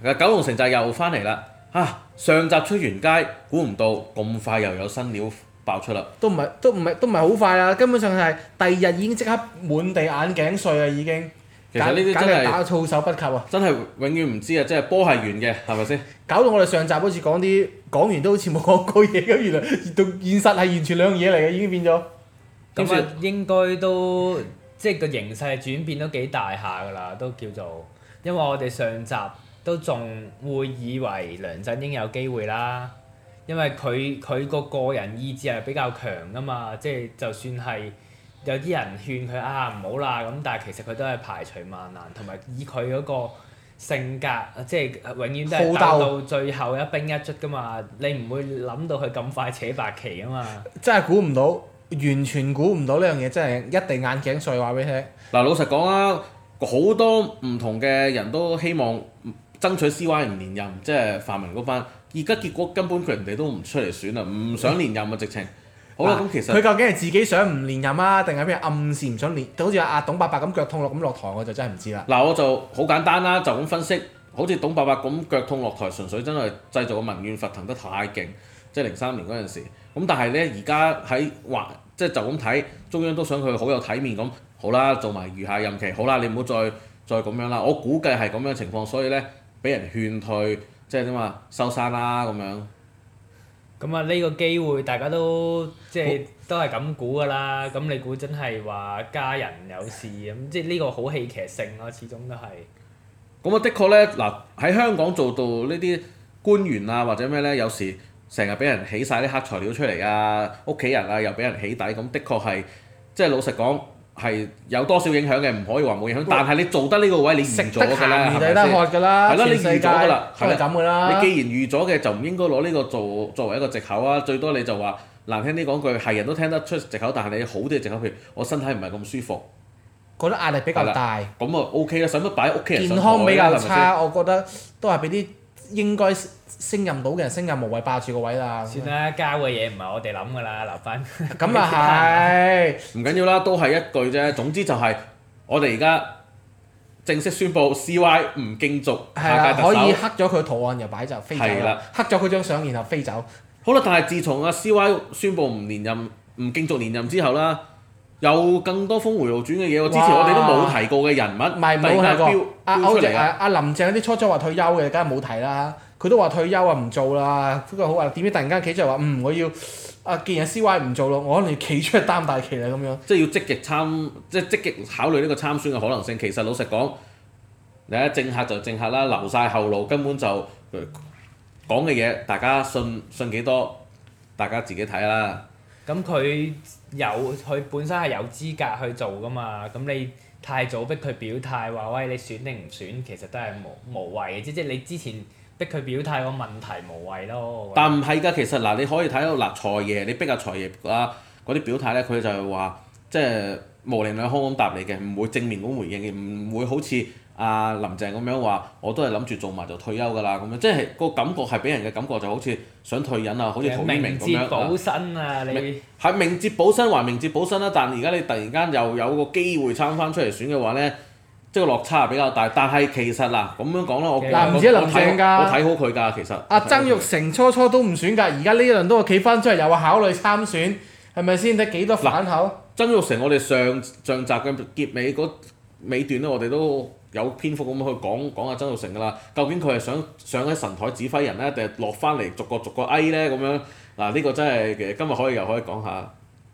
九龍城寨又翻嚟啦！上集出完街，估唔到咁快又有新料爆出啦！ 都唔係好快啊！根本上係第二日已經即刻滿地眼鏡碎啊！已經。 其實呢啲真係打措手不及啊！ 真係永遠唔知啊！即係波係圓嘅，係咪先？ 搞到我哋上集好似講完都好似冇講過嘢咁，原來到現實係完全兩樣嘢嚟嘅，已經變咗。 咁啊，應該都即係個形勢轉變都幾大下㗎啦，都叫做，因為我哋上集都仲會以為梁振英有機會啦，因為佢個人意志係比較強㗎嘛，即係就算係。有啲人勸佢唔好啦，咁但係其實佢都係排除萬難，同埋以佢嗰個性格，即係永遠都係鬥到最後一兵一卒噶嘛。你唔會諗到佢咁快扯白旗啊嘛。 真係估唔到，完全估唔到呢樣嘢，真係一定眼鏡碎話俾你聽。 嗱，老實講啦，好多唔同嘅人都希望爭取 CY 唔連任，即係泛民嗰班。而家結果根本人哋都唔出嚟選啦，唔想連任啊，直情。好啦，咁其實佢究竟係自己想唔連任啊，定係咩暗示唔想連？好似阿董伯伯咁腳痛咁落台，我就真係唔知啦。 嗱，我就好簡單啦，就咁分析，好似董伯伯咁腳痛落台，純粹真係製造個民怨沸騰得太勁，即係03年嗰陣時。咁但係咧，而家喺即係就咁睇，中央都想佢好有體面咁，好啦，做埋餘下任期，好啦，你唔好再咁樣啦。我估計係咁樣情況，所以咧俾人勸退，即係點啊，收山啦咁樣。 咁啊，呢個機會大家都即係都係咁估㗎啦。咁你估真係話家人有事咁，即係呢個好戲劇性咯，始終都係。 咁啊，的確咧，嗱喺香港做到呢啲官員啊或者咩咧，有時成日俾人起晒啲黑材料出嚟啊，屋企人啊又俾人起底，咁的確係即係老實講係有多少影響嘅，唔可以話冇影響。但係你做得呢個位，你預咗㗎啦，係咪先？係咯，你預咗㗎啦， 係咪咁㗎啦？ 你既然預咗嘅，就唔應該攞呢個作為一個藉口啊！最多你就話難聽啲講句，係人都聽得出藉口，但係你好啲嘅藉口，譬如我身體唔係咁舒服， 覺得壓力比較大。 咁啊 OK 啦，使乜擺喺屋企人身上？ 健康比較差，我覺得都係俾啲應該升任到嘅人升任，無謂霸住個位啦。 算啦，交嘅嘢唔係我哋諗㗎啦，留翻。 咁啊係。 唔緊要啦，都係一句啫。總之就係我哋而家正式宣布 CY 唔競逐下屆特首。 可以黑咗佢圖案又擺就飛走啦。黑咗佢張相然後飛走。 好啦，但係自從阿 CY 宣布唔連任、唔競逐連任之後啦，有更多峰迴路轉嘅嘢喎。之前我哋都冇提過嘅人物， 唔係冇提過。阿林鄭嗰啲初初話退休嘅，梗係冇提啦。佢都話退休啊，唔做啦。不過好話點知突然間企出嚟話我要既然 CY 唔做咯，我可能要企出嚟擔大旗啦咁樣。 即係要積極考慮呢個參選嘅可能性。其實老實講，你睇政客就政客啦，留晒後路，根本就講嘅嘢，大家信幾多，大家自己睇啦。 咁佢本身係有資格去做㗎嘛？咁你太早逼佢表態話喂，你選定唔選，其實都係無謂嘅，即係你之前逼佢表態個問題無謂咯。 但唔係㗎，其實嗱，你可以睇到嗱，財爺你逼阿財爺嗰啲表態咧，佢就係話即係模棱兩可咁答你嘅，唔會正面咁回應嘅，唔會好似阿林鄭咁樣話，我都係諗住做埋就退休㗎啦咁樣，即係個感覺係俾人嘅感覺就好似想退隱啊，好似陶淵明咁樣。 明哲保身啊！你係明哲保身還明哲保身啦，但而家你突然間又有個機會參翻出嚟選嘅話咧，即係個落差係比較大。但係其實嗱咁樣講啦，我唔止林鄭㗎， 我睇好佢㗎其實。 阿曾鈺成初都唔選㗎，而家呢一輪都企翻出嚟又話考慮參選，係咪先？睇幾多反口？ 曾鈺成我哋上集嘅結尾嗰尾段咧，我哋都有篇幅咁去講阿曾鈺成㗎啦。究竟佢係想上喺神台指揮人咧，定係落翻嚟逐個哀咧咁樣？嗱呢個真係嘅，今日又可以講下。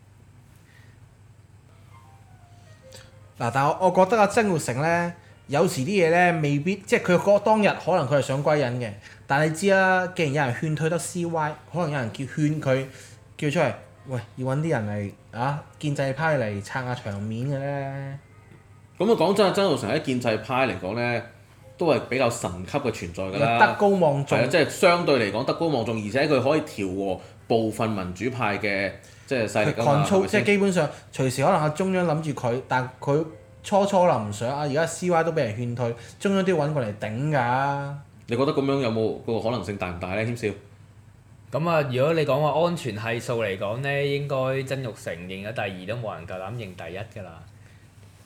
嗱，但係我覺得阿曾鈺成咧，有時啲嘢咧未必，即係佢當日可能佢係想歸隱嘅，但係你知啦，既然有人勸退得 CY，可能有人勸佢叫出嚟，喂，要揾啲人嚟建制派嚟撐下場面嘅咧。 咁啊講真啊，曾鈺成喺建制派嚟講咧，都係比較神級嘅存在㗎啦。 德高望重。 即係相對嚟講德高望重，而且佢可以調和部分民主派嘅即係勢力㗎嘛。 即係基本上隨時可能阿中央諗住佢，但佢初臨上而家 CY 都俾人勸退，中央都要揾過嚟頂㗎。 你覺得咁樣有冇個可能性大唔大咧？謙少？ 咁啊，如果你講話安全係數嚟講咧，應該曾鈺成認咗第二都冇人夠膽認第一㗎啦。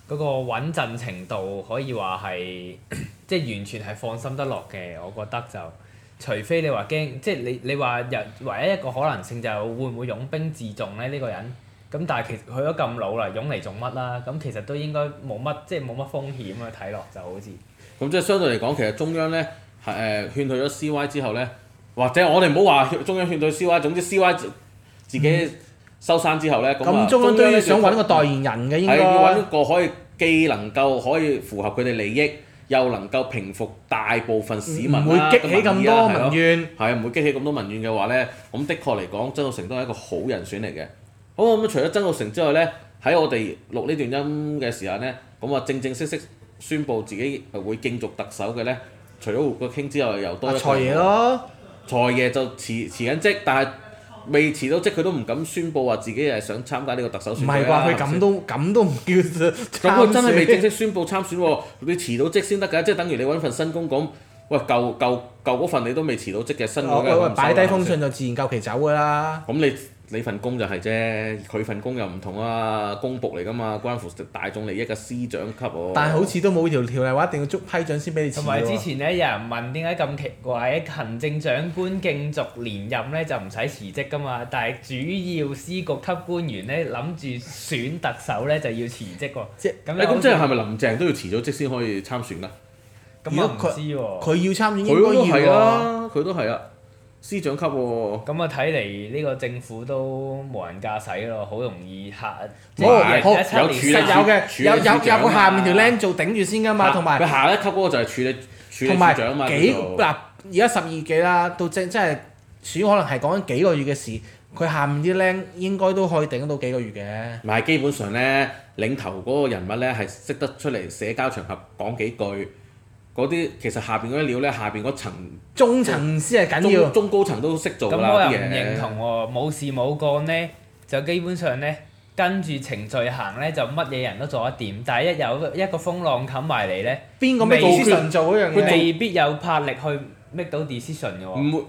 嗰個穩陣程度可以話係即係完全係放心得落嘅，我覺得就除非你話驚，即係你話唯一一個可能性就係會唔會擁兵自重咧呢個人，咁但係其實佢都咁老啦，擁嚟做乜啦？咁其實都應該冇乜即係冇乜風險啊，睇落就好似。 咁即係相對嚟講，其實中央咧係勸退咗 CY 之後咧，或者我哋唔好話中央勸退 CY，總之 CY 自己收山之後咧， 咁中央都要想揾個代言人嘅應該。 係要揾一個可以既能夠可以符合佢哋利益，又能夠平復大部分市民唔會激起咁多民怨。 係啊，唔會激起咁多民怨嘅話咧，咁的確嚟講，曾鈺成都係一個好人選嚟嘅。好咁，除咗曾鈺成之外咧，喺我哋錄呢段音嘅時候咧，咁啊正式宣布自己會競逐特首嘅咧，除咗胡國興之外，又多一個財爺咯。 財爺就辭緊職，但係未辭到職，佢都唔敢宣佈話自己係想參加呢個特首選舉。 唔係啩？佢咁都唔叫參選。 咁佢真係未正式宣佈參選喎，你辭到職先得㗎，即係等於你揾份新工咁。喂，舊嗰份你都未辭到職嘅新嗰嘅， 擺低封信就自然夠期走㗎啦。 咁你份工就係啫，佢份工又唔同啊，公僕嚟㗎嘛，關乎大眾利益嘅司長級喎。 但係好似都冇條例話一定要捉批准先俾你辭喎。 同埋之前咧，有人問點解咁奇怪，行政長官競逐連任咧就唔使辭職㗎嘛，但係主要司局級官員咧諗住選特首咧就要辭職喎。 咁即係係咪林鄭都要辭咗職先可以參選㗎？ 咁我唔知喎。 佢要參選應該要喎。 佢都係啊，司長級喎。 咁啊睇嚟呢個政府都無人駕駛咯，好容易嚇。 有個下面條僆做頂住先㗎嘛，同埋佢下一級嗰個就係處理處長啊嘛。 而家12幾啦，到真係選可能係講緊幾個月嘅事，佢下面啲僆應該都可以頂到幾個月嘅。 唔係基本上咧，領頭嗰個人物咧係識得出嚟社交場合講幾句。嗰啲其實下邊嗰啲料咧，下邊嗰層中層先係緊要， 中高層都識做㗎啦。 咁我又唔認同喎，冇事冇幹咧，就基本上咧跟住程序行咧，就乜嘢人都做得掂。但係一有一個風浪冚埋嚟咧， 邊個 make decision 做嗰樣嘢？ 未必有魄力去 make 到 decision 嘅喎。 唔會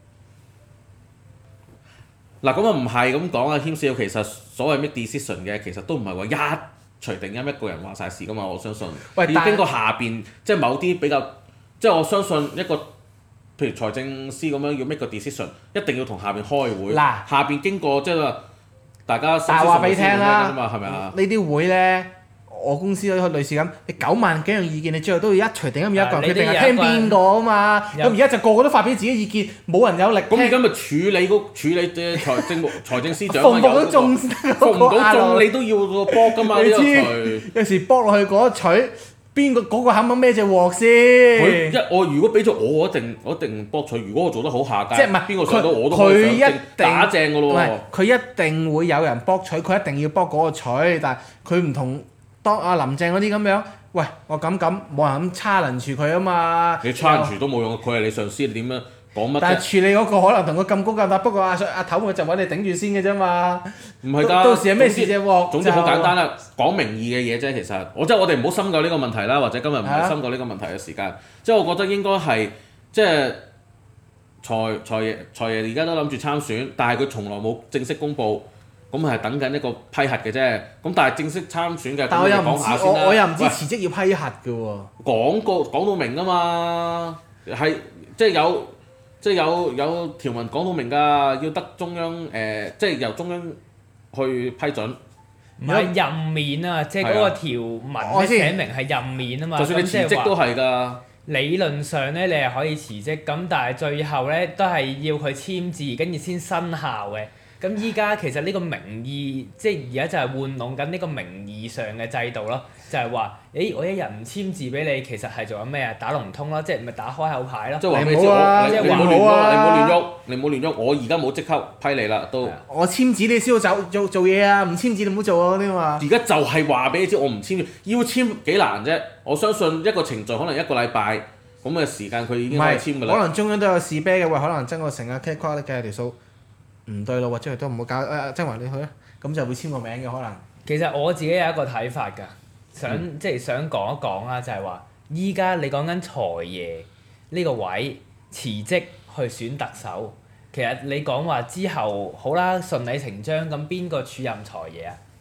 嗱，咁啊唔係咁講啊，謙少其實所謂 make decision 嘅，其實都唔係話一隨定音一個人話晒事㗎嘛，我相信。 喂， 要經過下邊，即係某啲比較，即係我相信一個，譬如財政司咁樣要 make 個 decision，一定要同下邊開會。 嗱， 下邊經過即係話大家。 但係話俾你聽啦， 係咪啊？ 呢啲會咧，我公司都類似咁，你9萬幾樣意見，你最後都要一隨定音一個人決定係聽邊個啊嘛。咁而家就個個都發表自己意見，冇人有力聽。 咁而家咪處理嘅財政司長服唔服到中？ 服唔到中你都要個波㗎嘛？ 你知有時搏落去嗰一取，邊個嗰個肯唔肯孭隻鑊先？ 我如果俾咗我一定博取。如果我做得好下屆， 即係唔係邊個上到我都可以上打正㗎咯喎。 佢一定會有人博取，佢一定要博嗰個取，但係佢唔同當阿林鄭嗰啲咁樣。喂，我咁冇人咁challenge佢啊嘛。 你challenge都冇用，佢係你上司，你點樣講乜啫？ 但係處理嗰個可能同佢咁高咁大，不過阿頭佢就揾你頂住先嘅啫嘛。 唔係㗎， 到時係咩事啫喎？ 總之好簡單啦，講名義嘅嘢啫。其實我哋唔好深究呢個問題啦，或者今日唔係深究呢個問題嘅時間。即係我覺得應該係即係財爺而家都諗住參選，但係佢從來冇正式公佈。咁係等緊一個批核嘅啫，咁但係正式參選嘅， 但我又唔知，我又唔知喂辭職要批核嘅喎。 講到明啊嘛，係即係有條文講到明㗎，要得中央即係由中央去批准。 唔係任免啊，即係嗰個條文寫明係任免啊嘛。 就算你辭職都係㗎。 理論上咧，你係可以辭職，咁但係最後咧都係要佢簽字，跟住先生效嘅。咁依家其實呢個名義，即係而家就係玩弄緊呢個名義上嘅制度咯，就係話，我一日唔簽字俾你，其實係做緊咩啊？打龍通咯，即係咪打開口牌咯？ 即係話咩？ 你唔好啊！ 你唔好亂喐，你唔好亂喐，我而家冇即刻批你啦，都。 我簽字你先好做嘢啊！唔簽字你唔好做啊！嗰啲嘛。 而家就係話俾你知，我唔簽，要簽幾難啫？我相信一個程序可能1個禮拜咁嘅時間，佢已經可以簽㗎啦。 可能中央都有試啤嘅喎，可能曾鈺成啊 K 框計下條數。唔對路，或者佢都唔好搞曾華你去啊，咁就會簽個名嘅可能。 其實我自己有一個睇法㗎，即係想講一講啦，就係話依家你講緊財爺呢個位辭職去選特首，其實你講話之後好啦，順理成章咁邊個署任財爺啊？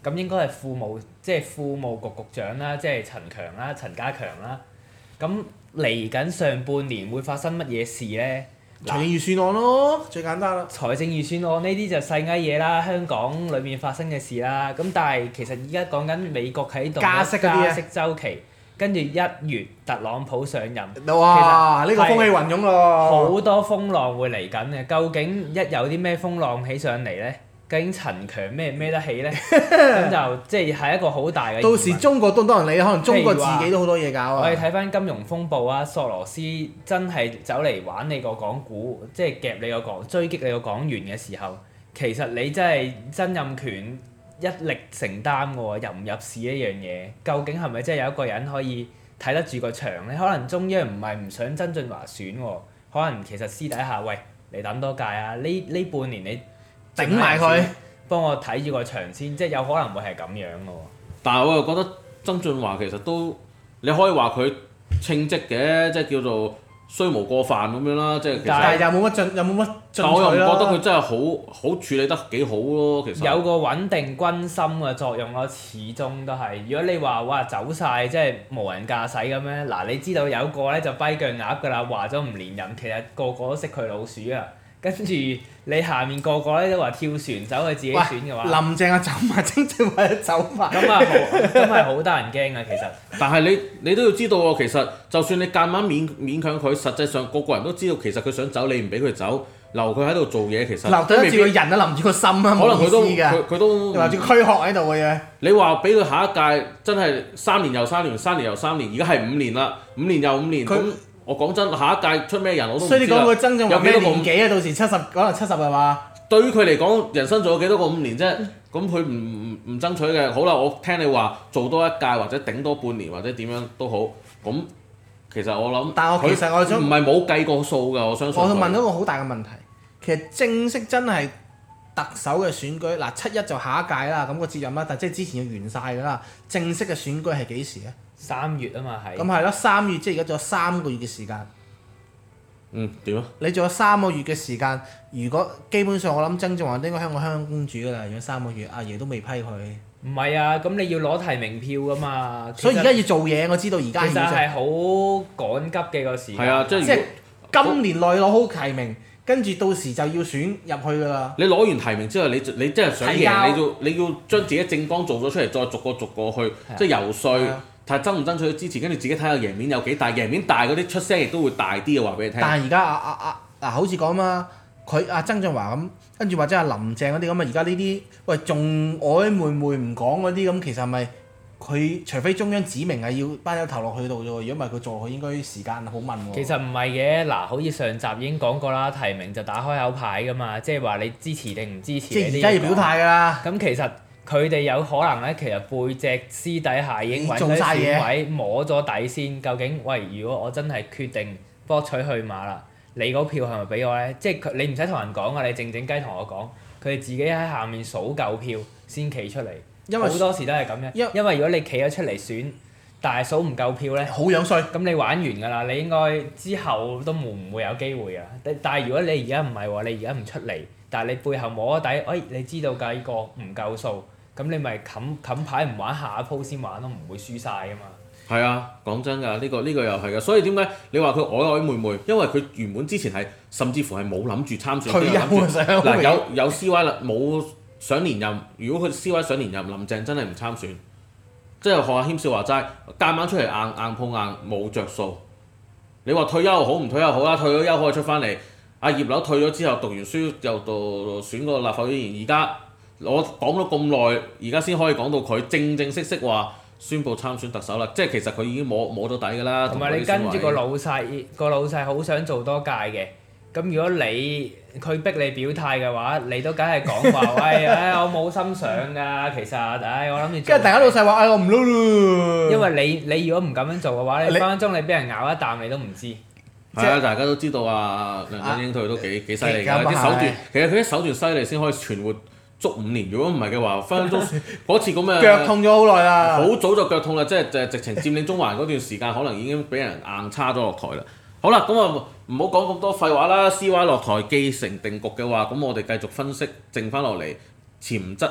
咁應該係庫務局局長啦，即係陳家強啦。咁嚟緊上半年會發生乜嘢事咧？ 財政預算案咯，最簡單啦。 財政預算案呢啲就細埃嘢啦，香港裏面發生嘅事啦。咁但係其實而家講緊美國喺度加息週期，跟住1月特朗普上任， 哇！呢個風起雲湧咯。 好多風浪會嚟緊嘅。究竟一有啲咩風浪起上嚟咧？究竟陳強孭得起咧？咁就即係一個好大嘅疑問。 到時中國都多人理，可能中國自己都好多嘢搞啊。 我哋睇翻金融風暴啊，索羅斯真係走嚟玩你個港股，即係夾你個港，追擊你個港元嘅時候，其實你真係曾蔭權一力承擔嘅喎，入唔入市呢樣嘢，究竟係咪真係有一個人可以睇得住個場咧？可能中央唔係唔想曾俊華選喎，可能其實私底下喂，你等多屆啊，呢半年你頂埋佢， 幫我睇住個場先，即係有可能會係咁樣嘅喎。 但係我又覺得曾俊華其實都你可以話佢稱職嘅，即係叫做雖無過犯咁樣啦，即係其實。 但係又冇乜進但我又唔取啦。 覺得佢真係好處理得幾好咯，其實。 有個穩定軍心嘅作用咯，始終都係。如果你話哇走晒，即係無人駕駛咁樣，嗱你知道有個咧就跛腳鴨㗎啦，話咗唔連任，其實個個都識佢老鼠啊。跟住你下面個個咧都話跳船走去自己選嘅話， 林鄭啊走埋，曾俊華又走埋。 咁係好得人驚啊！其實。 但係你都要知道喎，其實就算你夾硬勉強佢，實際上個個人都知道其實佢想走，你唔俾佢走，留佢喺度做嘢，其實留得住個人啊，留住個心啊， 可能佢都冇意思㗎。 佢都留住個軀殼喺度嘅嘢。 你話俾佢下一屆真係3年又3年，3年又3年，而家係5年啦，5年又5年。咁我講真，下一屆出咩人我都唔知啦。 所以你講個曾俊華咩有幾多個年紀啊？到時可能70係嘛？ 對於佢嚟講，人生仲有幾多個5年啫？咁佢唔爭取嘅，好啦，我聽你話做多一屆或者頂多半年或者點樣都好，咁其實我諗， 但係其實我想唔係冇計過數㗎，我相信。 我問到一個好大嘅問題，其實正式真係特首嘅選舉，嗱7-1就下一屆啦，咁個接任啦，但即係之前要完晒㗎啦。正式嘅選舉係幾時啊 3月啊嘛係。 咁係咯，3月即係而家仲有3個月嘅時間。 點啊？ 你仲有3個月嘅時間，如果基本上我諗曾俊華應該香港公主㗎啦，如果3個月，阿爺都未批佢。 唔係啊，咁你要攞提名票㗎嘛。 所以而家要做嘢，我知道而家其實係好趕急嘅個時間。 係啊，即係今年內攞好提名，跟住到時就要選入去㗎啦。 你攞完提名之後，你真係想贏，你要將自己政綱做咗出嚟，再逐個去，即係游説。睇爭唔爭取支持，跟住自己睇下贏面有幾大，贏面大嗰啲出聲亦都會大啲嘅，話俾你聽。 但係而家嗱，好似講嘛，佢曾俊華咁，跟住或者阿林鄭嗰啲咁啊，而家呢啲喂仲曖昧唔講嗰啲咁，其實係咪佢除非中央指明係要班友投落去度啫喎？如果唔係佢做，佢應該時間好問喎。 其實唔係嘅，嗱，好似上集已經講過啦，提名就打開口牌㗎嘛，即係話你支持定唔支持。 即係而家要表態㗎啦。 咁其實佢哋有可能咧，其實背脊私底下已經揾咗選委摸咗底先。究竟喂，如果我真係決定博取去馬啦，你嗰票係咪俾我咧？即係你唔使同人講啊，你靜靜雞同我講，佢哋自己喺下面數夠票先企出嚟。因為好多時都係咁樣。因為如果你企咗出嚟選，但係數唔夠票咧， 好樣衰。 咁你玩完㗎啦，你應該之後都唔會有機會啊。但係如果你而家唔係喎，你而家唔出嚟，但係你背後摸咗底，你知道計個唔夠數。咁你咪冚牌唔玩，下一鋪先玩咯，唔會輸晒㗎嘛。係啊，講真㗎，呢個又係㗎，所以點解你話佢曖昧昧？因為佢原本之前係甚至乎係冇諗住參選。 退休嗱有 CY 啦，冇想連任。如果佢 CY 想連任，林鄭真係唔參選。即係學阿謙少話齋，夾硬出嚟硬碰硬冇着數。你話退休好唔退休好啦，退咗休可以出翻嚟。阿葉劉退咗之後讀完書又到選個立法會議員，而家。我講咗咁耐，而家先可以講到佢正式話宣佈參選特首啦，即係其實佢已經摸咗底㗎啦。 同埋你跟住個老細好想做多屆嘅，咁如果佢逼你表態嘅話，你都梗係講話，我冇心想㗎，其實，我諗住。跟住大家老細話，我唔撈咯。 因為你如果唔咁樣做嘅話，你分分鐘你俾人咬一啖你都唔知。 係啊，大家都知道啊，梁振英佢都幾犀利㗎，啲手段其實佢啲手段犀利先可以存活足5年，如果唔係嘅話，分分鐘嗰次咁嘅腳痛咗好耐啦。 好早就腳痛啦，即係直情佔領中環嗰段時間，可能已經俾人硬叉咗落台啦。好啦，咁啊唔好講咁多廢話啦。CY 落台既成定局嘅話，咁我哋繼續分析剩翻落嚟潛質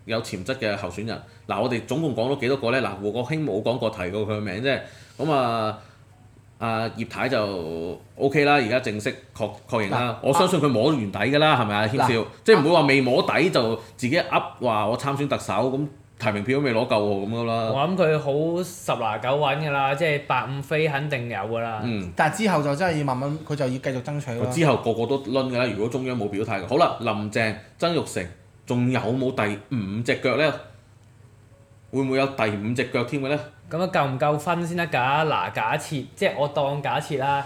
有潛質嘅候選人。嗱，我哋總共講咗幾多個咧？嗱，胡國興冇講過提過佢嘅名啫。咁葉太就 OK 啦，而家正式確認啦。我相信佢摸完底㗎啦，係咪啊？軒少，即係唔會話未摸底就自己噏話我參選特首咁。提名票都未攞夠喎，咁樣啦。 我諗佢好10拿9穩㗎啦，即係8-5飛肯定有㗎啦。 但係之後就真係要慢慢，佢就要繼續爭取咯。 之後個個都攆㗎啦，如果中央冇表態嘅。好啦，林鄭、曾鈺成仲有冇第5隻腳咧？會唔會有第5隻腳添嘅咧？ 咁啊夠唔夠分先得㗎？嗱，假設即係我當假設啦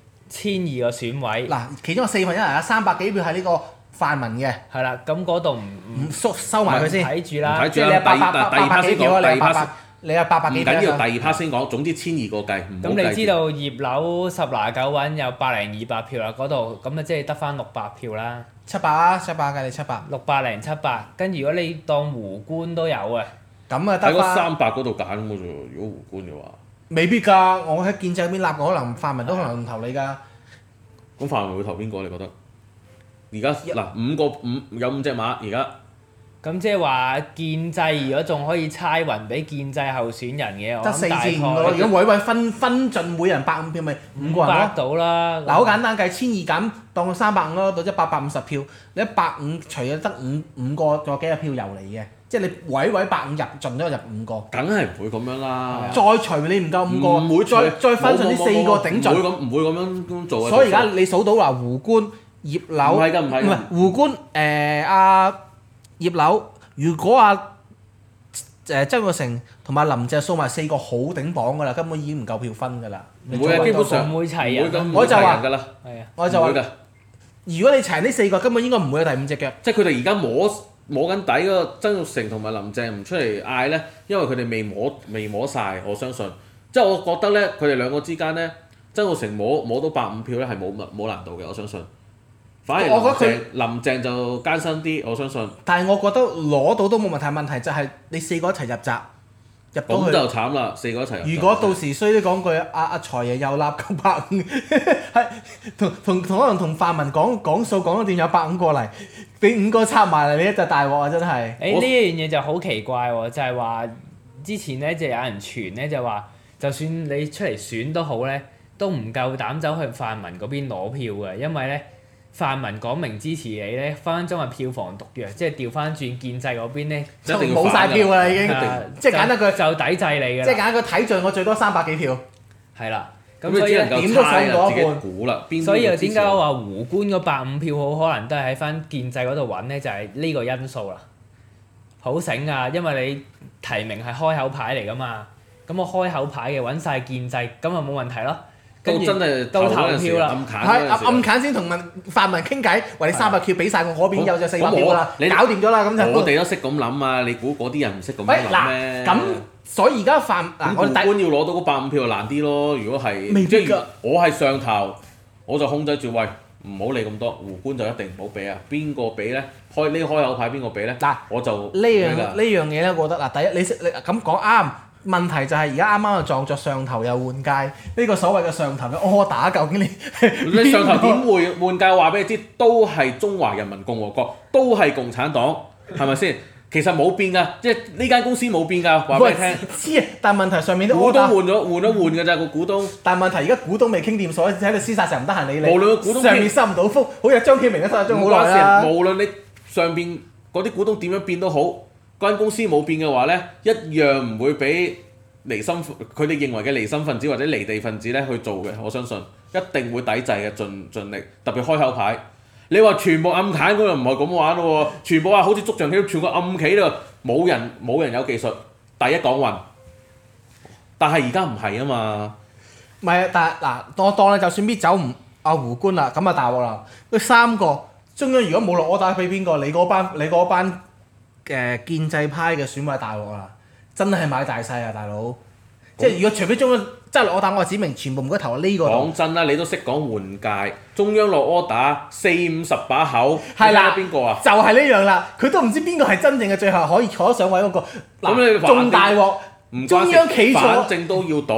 ，1,200個選位。 嗱，其中有4分一啊，300幾票係呢個泛民嘅。 係啦，咁嗰度唔收埋佢先。 睇住啦。 即係你有800幾票啊！你有800幾票。 唔緊要，第2 part 先講。總之1,200個計，唔好計。 咁你知道葉劉10拿9穩有100-200票啦，嗰度咁啊即係得翻600票啦。 700啊，700計你700。 600-700，跟住如果你當胡官都有啊。 咁啊得翻。 喺嗰300嗰度揀嘅啫，如果胡官嘅話。 未必㗎，我喺建制嗰邊立，可能泛民都可能唔投你㗎。 咁泛民會投邊個？你覺得？而家嗱有5隻馬而家。 咁即係話建制如果仲可以猜勻俾建制候選人嘅， 得4至5個咯。如果位分盡每人150票，咪5個人咯。 到啦。 嗱，好簡單計，1,200減當350咯，到即係850票。你150除咗得5個，仲有幾多票遊離嘅？即係你位150入盡咗入5個。 梗係唔會咁樣啦。 再除你唔夠5個，唔會再分盡呢4個頂盡。 唔會咁樣做嘅。 所以而家你數到話胡官、葉劉，唔係胡官葉劉，如果曾鈺成同埋林鄭數埋4個好頂榜㗎啦，根本已經唔夠票分㗎啦。 唔會啊，基本上唔會齊人。 我就話㗎啦。 我就話，如果你齊呢4個，根本應該唔會有第5隻腳。 即係佢哋而家摸緊底嗰個曾鈺成同埋林鄭唔出嚟嗌咧，因為佢哋未摸晒，我相信。即係我覺得咧，佢哋兩個之間咧，曾鈺成摸到150票咧係冇難度嘅，我相信。反而林鄭就艱辛啲，我相信。但係我覺得攞到都冇問題，問題就係你4個一齊入閘，入到去。 咁就慘啦，4個一齊入閘。 如果到時衰啲講句，阿財爺又立950，係可能同泛民講數講咗點有150過嚟，俾5個插埋嚟，你一隻大鑊啊！真係。 呢樣嘢就好奇怪喎，就係話之前咧就有人傳咧就話，就算你出嚟選都好咧，都唔夠膽走去泛民嗰邊攞票嘅，因為咧。泛民講明支持你咧，分分鐘係票房毒藥，即係調翻轉建制嗰邊咧， 就冇晒票㗎啦已經，即係簡單句就抵制你㗎啦。 即係簡單句睇盡我最多300幾票。 係啦，咁所以點都上到一半。 所以又點解我話胡官嗰150票好可能都係喺翻建制嗰度揾咧？就係呢個因素啦。好醒啊，因為你提名係開口牌嚟㗎嘛，咁我開口牌嘅揾晒建制，咁就冇問題咯。 到真係到投票啦， 暗揀先同泛民傾偈，話你300票俾晒我嗰邊有隻400票啦，搞掂咗啦咁就。 我哋都識咁諗啊！你估嗰啲人唔識咁諗咩？ 咁所以而家我胡官要攞到嗰150票就難啲咯。如果係未必㗎， 我係上頭，我就控制住喂，唔好理咁多。胡官就一定唔好俾啊！邊個俾咧？開口牌邊個俾咧？我就呢樣嘢咧，我覺得第一你咁講啱。問題就係而家啱啱就撞着上頭又換屆，呢個所謂嘅上頭嘅柯打究竟你上頭點會換屆？話俾你知，都係中華人民共和國，都係共產黨，係咪先？其實冇變㗎，即係呢間公司冇變㗎，話俾你聽。 知啊，但係問題上面都股東換㗎咋個股東。 但係問題而家股東未傾掂數，喺度廝殺成唔得閒理你。 無論股東上面收唔到風，好似張曉明都收咗張好耐啦。 無論你上邊嗰啲股東點樣變都好，嗰間公司冇變嘅話咧，一樣唔會俾佢哋認為嘅離心分子或者離地分子咧去做嘅。我相信一定會抵制嘅，盡力。特別開口牌，你話全部暗砍嗰度唔係咁玩咯喎，全部話好似捉象棋，全部暗棋咯，冇人有技術，第一講運。但係而家唔係啊嘛。 唔係啊，但係嗱，當你就算搣走胡官啦，咁啊大鑊啦。佢3個中央如果冇落柯打俾邊個，你嗰班建制派嘅選委大鑊啦，真係買大細啊，大佬！即係如果除非中央真係落柯打，我指明全部唔該投呢個。 講真啦，你都識講換屆，中央落柯打40-50把口， 係啦， 邊個啊？ 就係呢樣啦，佢都唔知邊個係真正嘅最後可以坐得上位嗰個。 咁你仲大鑊，中央企咗， 反正都要賭，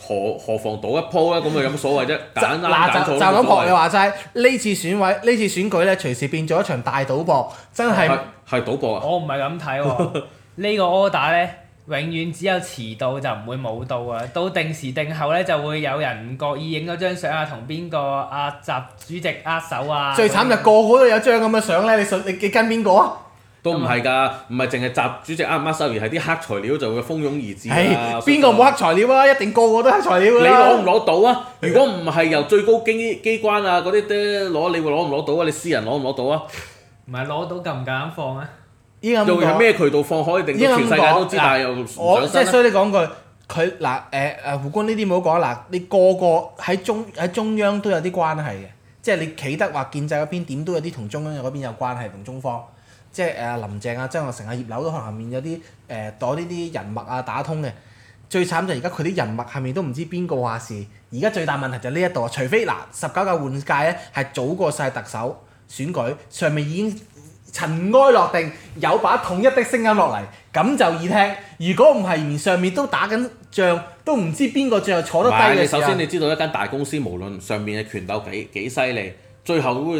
何妨賭一鋪咧？咁啊有乜所謂啫？揀啱嗱就揀錯都冇咁學你所謂。 話齋，呢次選舉咧隨時變咗一場大賭博，真係係賭博啊！ 我唔係咁睇喎，呢個 order 咧，永遠只有遲到就唔會冇到啊！到定時定候咧，就會有人唔覺意影咗張相啊，同邊個習主席握手啊！ 最慘就個個都有張咁嘅相咧，你跟邊個啊？ 都唔係㗎，唔係淨係習主席啱唔啱收，而係啲黑材料就會蜂擁而至啦。 邊個冇黑材料啊？一定個個都黑材料㗎你啦攞唔攞到啊？如果唔係由最高機關啊嗰啲攞，你會攞唔攞到啊？你私人攞唔攞到啊？ 唔係攞到夠唔夠膽放啊？ 依家咁又係講， 咩渠道放可以令到全世界都知，但係又唔我即係上身啊？ 所以你講句，佢胡官呢啲冇講嗱，你個個喺中央都有啲關係嘅，即係你企得話建制嗰邊點都有啲同中央嗰邊有關係，同中方，即係林鄭啊、曾鈺成啊、葉劉都可能後面有啲攞呢啲人脈啊打通嘅。最慘就係而家佢啲人脈後面都唔知邊個話事，而家最大問題就係呢一度啊，除非19屆換屆咧係早過晒特首選舉，上面已經塵埃落定，有把統一的聲音落嚟，咁就易聽。如果唔係，連上面都打緊仗，都唔知邊個最後坐得唔係， 低嘅時候。 你首先你知道一間大公司無論上面嘅權鬥幾犀利，最後都會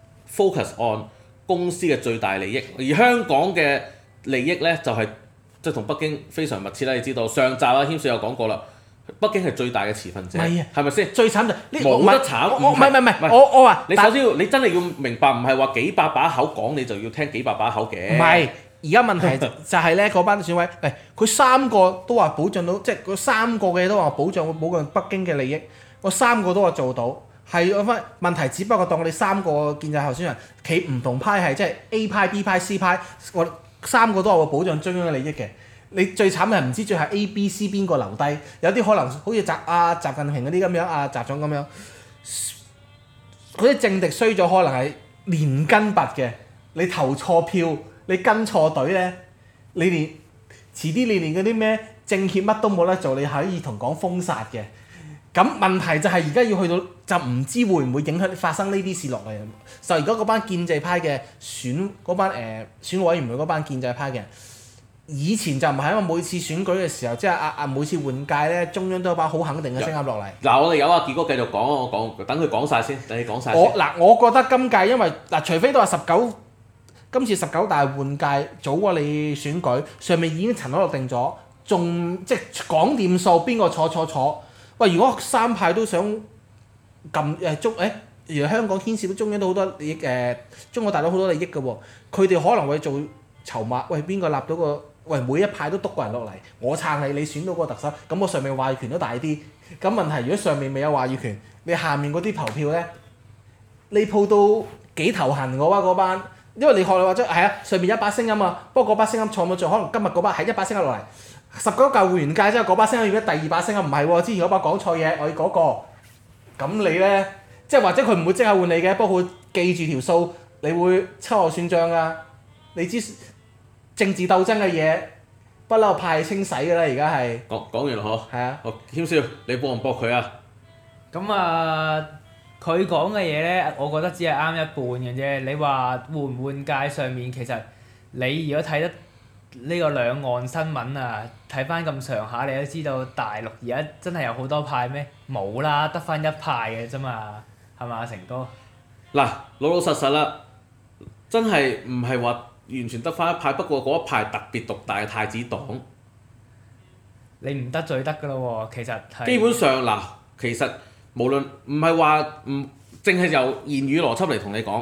focus on 公司嘅最大利益。而香港嘅利益咧就係即係同北京非常密切啦。你知道上集啊，謙少有講過啦，北京係最大嘅持份者， 係啊係咪先？ 最慘就呢冇得慘我唔係唔係我話你首先你真係要明白，唔係話幾百把口講你就要聽幾百把口嘅。 唔係，而家問題就係咧，嗰班選委，佢三個都話保障到，即係嗰三個嘅都話保障北京嘅利益，我三個都話做到，係嗰翻問題，只不過當我哋三個建制候選人企唔同派系，即係 A 派、B 派、C 派，我三個都係會保障中央嘅利益嘅。你最慘係唔知最後 A、B、C 邊個留低，有啲可能好似習近平嗰啲咁樣，習總咁樣，嗰啲政敵衰咗，可能係連根拔嘅。你投錯票，你跟錯隊咧，遲啲你連嗰啲咩政協乜都冇得做，你可以同講封殺嘅。咁問題就係而家要去到就唔知會唔會影響發生呢啲事落嚟。就而家嗰班建制派嘅選委員會嗰班建制派嘅人。以前就唔係，因為每次選舉嘅時候，即係每次換屆咧，中央都有把好肯定嘅聲音落嚟。 嗱，我哋有阿傑哥繼續講，我講等佢講晒先，等你講晒先。 我覺得今屆因為除非都話今次19大換屆早過你選舉，上面已經塵埃落定咗，仲即係講掂數邊個坐。喂，如果三派都想原來香港牽涉到中央都好多利益中國大陸好多利益嘅喎，佢哋可能會做籌碼。喂，邊個立到個？喂，每一派都督個人落嚟，我撐你，你選到個特首，咁我上面話語權都大啲。咁問題如果上面未有話語權，你下面嗰啲投票咧，你鋪到幾頭痕嘅話嗰班，因為你學你話齋係啊，上面一把聲音啊，不過嗰把聲音錯冇錯，可能今日嗰把係一把聲音落嚟，19屆換完屆之後嗰把聲音要咗第二把聲音，唔係喎，之前嗰把講錯嘢，我要嗰個，咁你咧，即係或者佢唔會即刻換你嘅，不過佢記住條數，你會秋後算賬㗎，你知。政治鬥爭嘅嘢不嬲派清洗㗎啦，而家係講完啦嗬。 係啊。 好，謙少，你幫唔幫佢啊？ 咁啊，佢講嘅嘢咧，我覺得只係啱一半嘅啫。你話換唔換屆上面，其實你如果睇得呢個兩岸新聞啊，睇翻咁上下，你都知道大陸而家真係有好多派咩？冇啦，得翻一派嘅啫嘛，係嘛，成哥？ 嗱，老老實實啦，真係唔係話完全得翻一派，不過嗰一派特別獨大嘅太子黨。 你唔得罪得㗎咯喎，其實係。 基本上嗱，其實無論唔係話唔淨係由言語邏輯嚟同你講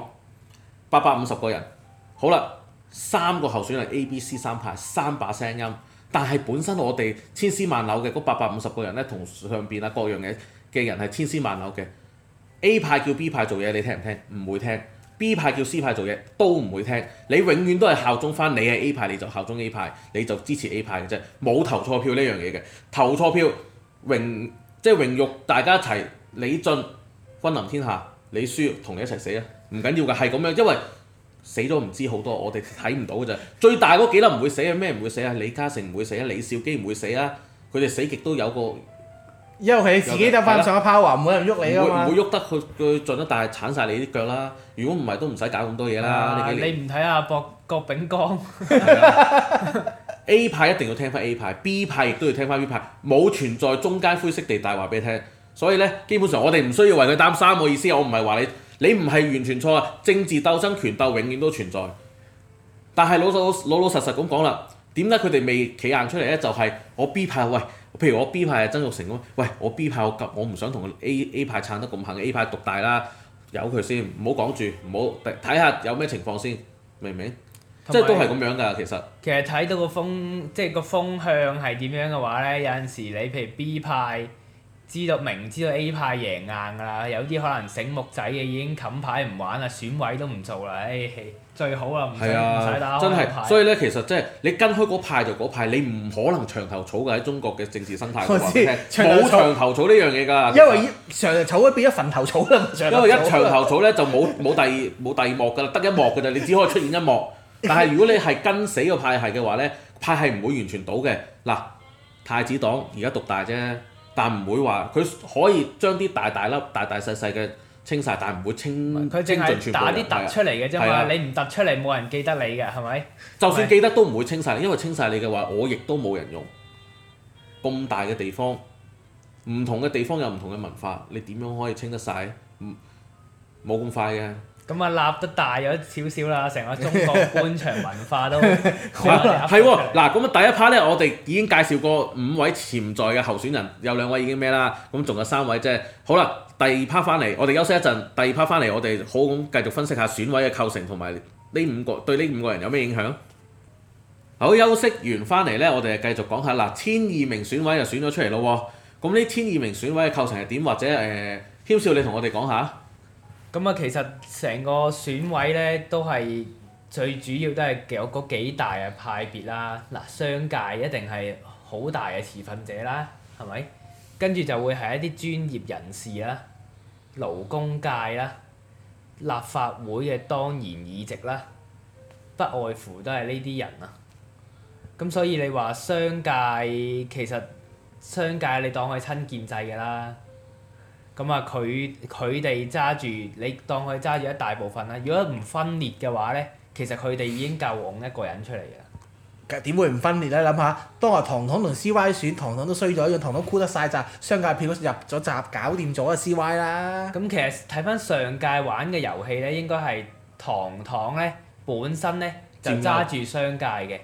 ，850個人，好啦，3個候選人 A、B、C 三派3把聲音，但係本身我哋千絲萬縷嘅嗰850個人咧，同上邊啊各樣嘅人係千絲萬縷嘅。A 派叫 B 派做嘢，你聽唔聽？唔會聽。B 派叫 C 派做嘢都唔會聽，你永遠都係效忠翻你係 A 派，你就效忠 A 派，你就支持 A 派嘅啫，冇投錯票呢樣嘢嘅。投錯票即係榮辱大家一齊，你進君臨天下，你輸同你一齊死啊！唔緊要㗎，係咁樣，因為死咗唔知好多，我哋睇唔到㗎咋。最大嗰幾粒唔會死啊，咩唔會死啊？李嘉誠唔會死啊，李兆基唔會死啊，佢哋死極都有個。 因為佢自己得翻上一拋話，冇人喐你㗎嘛。 唔會喐得佢盡得，但係鏟晒你啲腳啦。如果唔係都唔使搞咁多嘢啦。 你唔睇下郭炳江， A 派一定要聽翻 A 派，B 派亦都要聽翻 B 派，冇存在中間灰色地帶話俾你聽。所以咧，基本上我哋唔需要為佢擔心。我意思，我唔係話你唔係完全錯啊。政治鬥爭、權鬥永遠都存在。但係老實咁講啦，點解佢哋未企硬出嚟咧？就係、我 B 派喂，譬如我 B 派係曾鈺成咁，喂我 B 派我唔想同 A 派撐得咁行 A 派獨大啦，由佢先，唔好講住，唔好睇下有咩情況先，明唔明？即係都係咁樣㗎，其實。 其實睇到個風，即係個風向係點樣嘅話咧，有陣時你譬如 B 派明知道 A 派贏硬㗎啦，有啲可能醒目仔嘅已經冚牌唔玩啦，選委都唔做啦，最好啦，唔使打開個牌。 所以咧，其實即係你跟開嗰派就嗰派，你唔可能長頭草㗎喺中國嘅政治生態。 我知冇長頭草呢樣嘢㗎。 因為長頭草都變咗墳頭草啦。 因為一長頭草咧就冇第二幕㗎啦，得一幕㗎咋，你只可以出現一幕。但係如果你係跟死個派系嘅話咧，派系唔會完全倒嘅。嗱，太子黨而家獨大啫，但唔會話佢可以將啲大細嘅清晒，但唔會清佢淨係打啲突出嚟嘅啫嘛，你唔突出嚟冇人記得你嘅，係咪？ 就算記得都唔會清晒，因為清晒你嘅話，我亦都冇人用。咁大嘅地方，唔同嘅地方有唔同嘅文化，你點樣可以清得晒？冇咁快嘅。 咁啊，立得大咗少少啦，成個中國官場文化都係喎。嗱，咁啊第一 part 咧，我哋已經介紹過5位潛在嘅候選人，有2位已經咩啦，咁仲有3位啫。好啦，第二 part 翻嚟，我哋休息一陣，第二 part 翻嚟，我哋好咁繼續分析下選委嘅構成同埋呢5個對呢5個人有咩影響。好，休息完翻嚟咧，我哋繼續講下嗱，1002名選委就選咗出嚟咯喎。咁呢1002名選委嘅構成係點？或者軒少你同我哋講下。 咁啊，其實成個選委咧都係最主要都係有嗰幾大嘅派別啦。嗱，商界一定係好大嘅持份者啦，係咪？跟住就會係一啲專業人士啦、勞工界啦、立法會嘅當然議席啦，不外乎都係呢啲人啊。咁所以你話商界其實商界你當佢親建制㗎啦。咁啊，佢哋揸住，你當佢揸住一大部分啦。如果唔分裂嘅話咧，其實佢哋已經夠擁一個人出嚟㗎啦。 點會唔分裂咧？諗下，當日唐黨同 CY 選，唐黨都衰咗，讓唐黨箍得晒咋，商界票入咗閘，搞掂咗啊 CY 啦。 咁其實睇翻上屆玩嘅遊戲咧，應該係唐黨咧本身咧就揸住商界嘅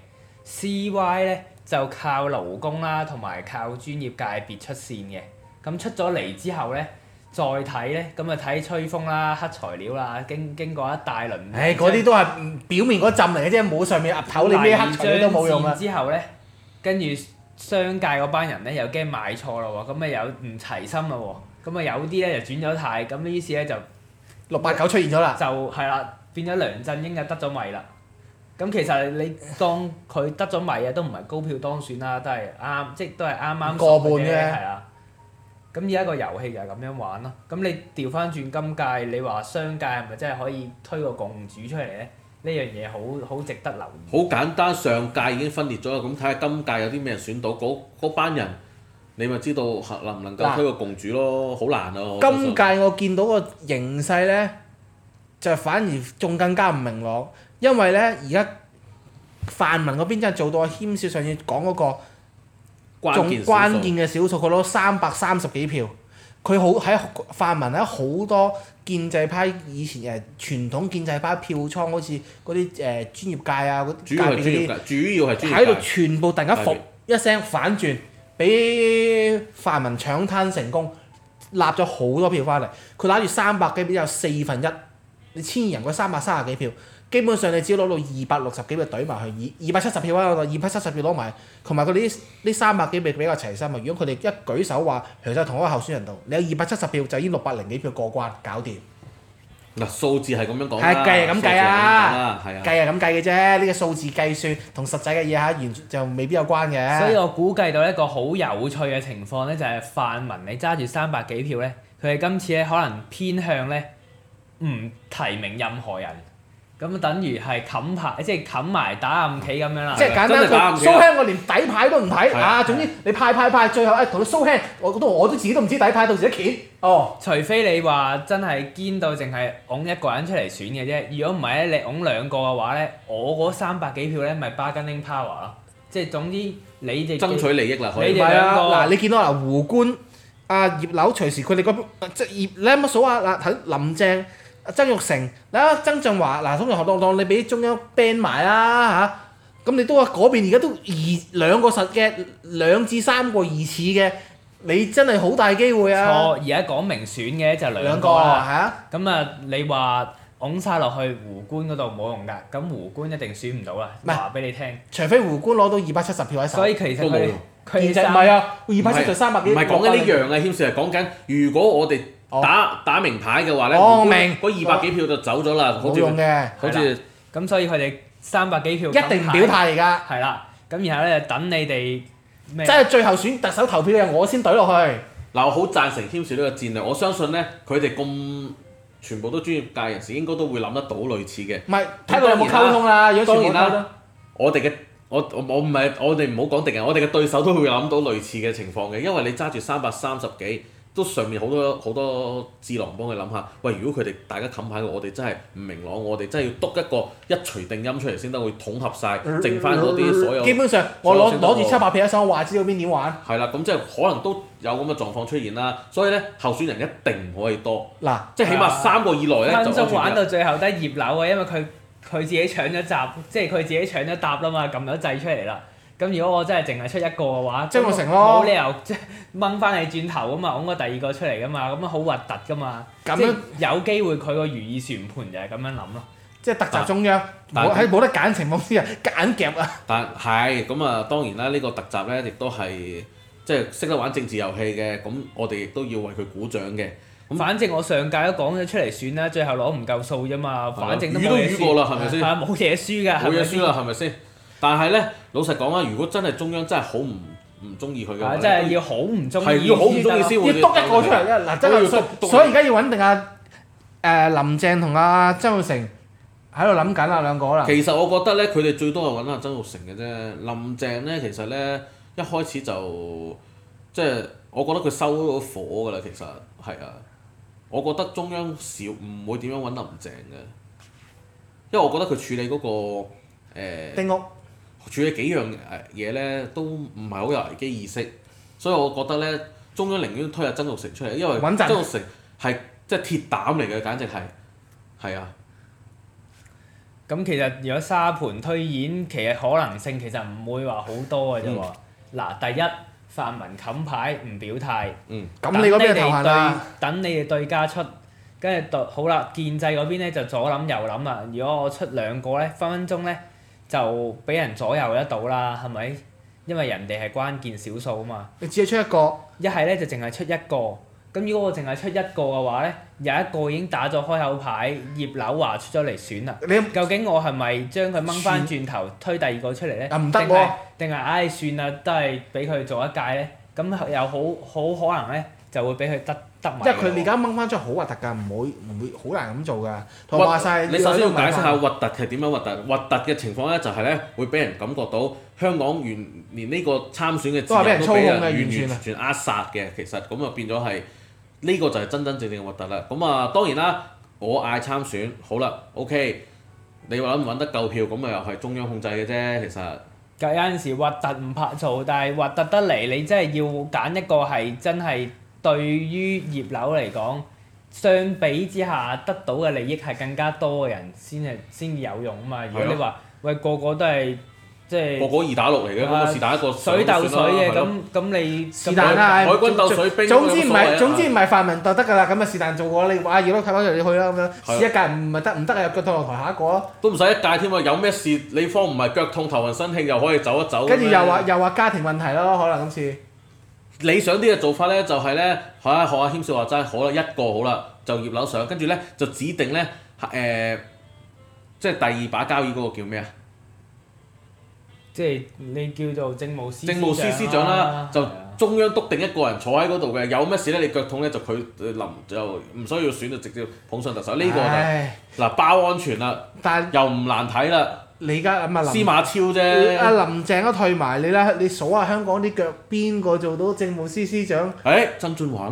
，CY 咧就靠勞工啦，同埋靠專業界別出線嘅。咁出咗嚟之後咧。再睇咧，咁啊睇吹風啦、黑材料啦，經過一大輪。 嗰啲都係表面嗰陣嚟嘅啫，冇上面岌頭，你咩黑材料都冇用啊！ 之後咧，跟住商界嗰班人咧又驚買錯咯喎，咁啊有唔齊心咯喎，咁啊有啲咧就轉咗軚，咁於是咧就 689出現咗啦。 就係啦，變咗梁振英就得咗米啦。咁其實你當佢得咗米啊，都唔係高票當選啦，都係啱，即係都係啱啱過半啫。 係啦。咁而家個遊戲就係咁樣玩咯。咁你調翻轉今屆，你話商界係咪真係可以推個共主出嚟咧？呢樣嘢好值得留意。 好簡單，上屆已經分裂咗啦，咁睇下今屆有啲咩人選到，嗰班人你咪知道能唔能夠推個共主咯？好難啊！ 今屆我見到個形勢咧，就反而仲更加唔明朗，因為咧而家泛民嗰邊真係做到阿軒少上次講嗰個。仲關鍵嘅少數，佢攞330幾票，佢好喺泛民喺好多建制派以前傳統建制派票倉，好似嗰啲專業界啊嗰界別嗰啲， 主要係專業界喺度全部突然間一聲反轉，俾泛民搶灘成功，立咗好多票翻嚟。佢攞住300幾票有1/4，你1000人嗰330幾票。基本上你只要攞到260幾票懟埋去，270票啊，270票攞埋，同埋佢哋呢300幾票比較齊心啊！如果佢哋一舉手話其實同一個候選人度，你有270票就已經600幾票過關，搞掂。 嗱，數字係咁樣講啦， 係計係咁計啊， 係啊， 計係咁計嘅啫。呢個數字計算同實際嘅嘢完全就未必有關嘅。 所以我估計到一個好有趣嘅情況咧，就係泛民你揸住300幾票咧，佢哋今次咧可能偏向咧唔提名任何人。咁等於係冚牌，即係冚埋打暗棋咁樣啦。 即係簡單講，蘇輕我連底牌都唔睇啊！總之你派，最後同你蘇輕，我都自己都唔知底牌，到時一揭哦。 除非你話真係堅到淨係擁一個人出嚟選嘅啫。如果唔係咧，你擁2個嘅話咧，我嗰300幾票咧咪bargaining power 咯。 即係總之你哋爭取利益啦，可以你唔係啊， 哋兩個嗱，你見到嗱胡官、葉劉隨時佢哋嗰即係你有乜數啊？嗱，睇林鄭、曾鈺成，嗱曾俊華，嗱通常當你俾中央 ban 埋啦嚇，咁你都話嗰邊而家都兩個實嘅，2至3個疑似嘅，你真係好大機會啊！ 錯，而家講明選嘅就兩兩個啊， 個啦。 係啊， 咁啊，你話拱晒落去胡官嗰度冇用㗎，咁胡官一定選唔到啦。 唔係話俾你聽， 除非胡官攞到270票喺手。 所以其實佢都冇用其實唔佢三係啊，270 300幾。 唔係講緊呢樣啊，謙少係講緊，如果我哋打明牌嘅話咧， 我明嗰200幾票就走咗啦，好似冇用嘅， 好似咁所以佢哋300幾票一定唔表態而家。 係啦，咁然後咧就等你哋咩？ 即係最後選特首投票嘅我先懟落去。 嗱，我好贊成謙少呢個戰略，我相信咧佢哋咁全部都專業界人士，應該都會諗得到類似嘅。 唔係睇佢有冇溝通啦，如果當然啦全部溝通。 我哋嘅我唔係我哋唔好講敵人，我哋嘅對手都會諗到類似嘅情況嘅，因為你揸住330幾，都上面好多智囊幫佢諗下，喂，如果佢哋大家冚牌嘅，我哋真係唔明朗，我哋真係要篤一個一錘定音出嚟先得，會統合晒，剩翻嗰啲所有。 基本上我攞住700票一手，我話知道邊點玩。 係啦，咁即係可能都有咁嘅狀況出現啦，所以咧候選人一定唔可以多， 嗱， 即係起碼3個以內咧就分鐘玩到最後得葉劉啊，因為佢自己搶咗閘，即係佢自己搶咗答啦嘛，撳咗掣出嚟啦。咁如果我真係淨係出一個嘅話， 曾鈺成咯冇理由即係掹翻你轉頭噶嘛，拱個第二個出嚟噶嘛，咁樣好核突噶嘛。 咁樣即係有機會佢個如意算盤就係咁樣諗咯。 即係特集中央， 但喺冇得揀情況之下，揀夾啊！ 但係咁啊，當然啦，呢個特集咧亦都係即係識得玩政治遊戲嘅，咁我哋亦都要為佢鼓掌嘅。咁反正我上屆都講咗出嚟選啦，最後攞唔夠數啫嘛，反正都冇魚都嘢輸。 魚過啦，係咪先？ 係啊，冇嘢輸㗎， 冇嘢輸啦，係咪先？但係咧，老實講啊，如果真係中央真係好唔中意佢嘅話， 真係要好唔中意， 係要好唔中意先會要篤一個出嚟啊！嗱，真係所以而家要穩定林鄭同曾鈺成喺度諗緊啦，兩個啦。 其實我覺得咧，佢哋最多係揾阿曾鈺成嘅啫。林鄭咧，其實咧一開始就即係我覺得佢收咗火㗎啦。其實係啊，我覺得中央少唔會點樣揾林鄭嘅，因為我覺得佢處理嗰個丁屋處理幾樣嘢咧，都唔係好有危機意識，所以我覺得咧，中央寧願推下曾鈺成出嚟，因為穩陣曾鈺成係即係鐵膽嚟嘅，簡直係啊。 咁其實如果沙盤推演，其實可能性其實唔會話好多嘅啫喎。嗱，第一泛民冚牌唔表態， 咁你嗰邊投行啊？ 等你哋對家出，跟住好啦，建制嗰邊咧就左諗右諗啦。如果我出兩個咧，分分鐘咧就俾人左右得到啦，係咪？因為人哋係關鍵少數啊嘛。 你只係出一個， 一係咧就淨係出一個。咁如果我淨係出一個嘅話咧，有一個已經打咗開口牌，葉劉華出咗嚟選啦。究竟我係咪將佢掹翻轉頭推第二個出嚟咧？ 唔得喎！ 定係唉算啦，都係俾佢做一屆咧。咁又好可能咧，就會俾佢得埋。 因為佢而家掹翻出嚟好核突㗎，唔會好難咁做㗎。同埋話曬， 你首先要解釋下核突係點樣核突？核突嘅情況咧就係咧會俾人感覺到香港連呢個參選嘅自由都俾人完全扼殺嘅。其實咁啊變咗係。呢個就係真真正正嘅核突啦！咁啊當然啦，我嗌參選，好啦 ，OK， 你話揾唔揾得夠票，咁啊又係中央控制嘅啫，其實。 有陣時核突唔怕做，但係核突得嚟，你真係要揀一個係真係對於葉劉嚟講，相比之下得到嘅利益係更加多嘅人先至有用啊嘛！如果你話喂個個都係。即係個個2打6嚟嘅，咁啊是但一個水鬥水嘅，咁你是但啦， 海軍鬥水兵。 總之唔係泛民就得㗎啦，咁啊是但做過你話葉劉睇翻出嚟你去啦咁樣，試一屆唔係得唔得啊？腳痛落台下一個咯。 都唔使一屆添啊！有咩事你方唔係腳痛頭暈身㷫又可以走一走。 跟住又話家庭問題咯，可能今次。 理想啲嘅做法咧就係咧，學阿謙少話齋，好啦一個好啦，就葉劉上，跟住咧就指定咧即係第二把交椅嗰個叫咩啊？ 即係你叫做政務司司長啦，就中央督定一個人坐喺嗰度嘅，有咩事咧你腳痛咧就佢臨就唔需要選就直接捧上特首，呢個就嗱包安全啦，又唔難睇啦。 你而家諗下司馬超啫， 阿林鄭都退埋你啦，你數下香港啲腳邊個做到政務司司長？ 曾俊華啦。